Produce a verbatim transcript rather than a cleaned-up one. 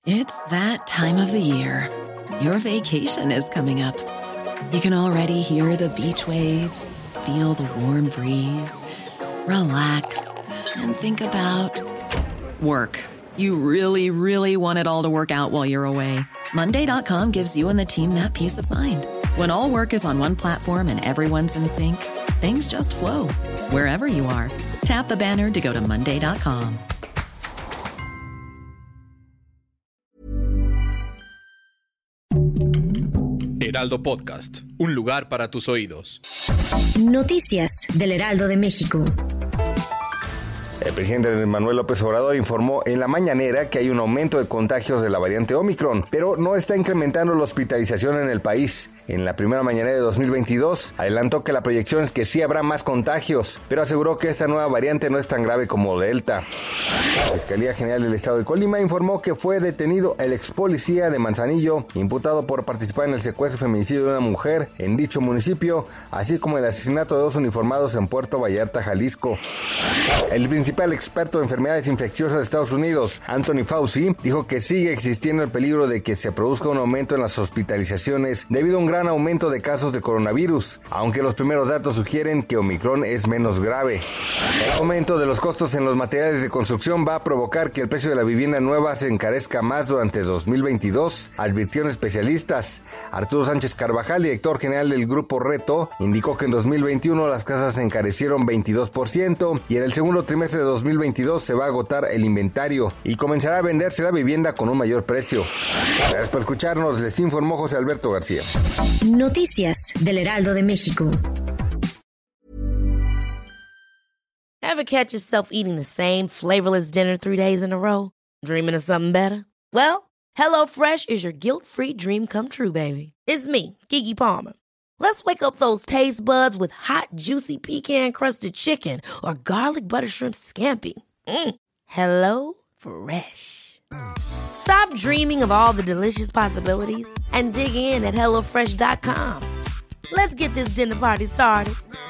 It's that time of the year. Your vacation is coming up. You can already hear the beach waves, feel the warm breeze, relax, and think about work. You really, really want it all to work out while you're away. Monday dot com gives you and the team that peace of mind. When all work is on one platform and everyone's in sync, things just flow. Wherever you are, tap the banner to go to Monday dot com. Heraldo Podcast, un lugar para tus oídos. Noticias del Heraldo de México. El presidente Manuel López Obrador informó en la mañanera que hay un aumento de contagios de la variante Omicron, pero no está incrementando la hospitalización en el país. En la primera mañanera de dos mil veintidós, adelantó que la proyección es que sí habrá más contagios, pero aseguró que esta nueva variante no es tan grave como Delta. La Fiscalía General del Estado de Colima informó que fue detenido el ex policía de Manzanillo, imputado por participar en el secuestro y feminicidio de una mujer en dicho municipio, así como el asesinato de dos uniformados en Puerto Vallarta, Jalisco. El principal experto de enfermedades infecciosas de Estados Unidos, Anthony Fauci, dijo que sigue existiendo el peligro de que se produzca un aumento en las hospitalizaciones debido a un gran aumento de casos de coronavirus, aunque los primeros datos sugieren que Omicron es menos grave. El aumento de los costos en los materiales de construcción va a provocar que el precio de la vivienda nueva se encarezca más durante dos mil veintidós, advirtieron especialistas. Arturo Sánchez Carvajal, director general del Grupo Reto, indicó que en dos mil veintiuno las casas se encarecieron veintidós por ciento y en el segundo trimestre de dos mil veintidós se va a agotar el inventario y comenzará a venderse la vivienda con un mayor precio. Gracias por escucharnos, les informó José Alberto García. Noticias del Heraldo de México. Ever catch yourself eating the same flavorless dinner three days in a row? Dreaming of something better? Well, HelloFresh is your guilt-free dream come true, baby. It's me, Keke Palmer. Let's wake up those taste buds with hot, juicy pecan-crusted chicken or garlic butter shrimp scampi. Mm. Hello Fresh. Stop dreaming of all the delicious possibilities and dig in at hello fresh dot com. Let's get this dinner party started.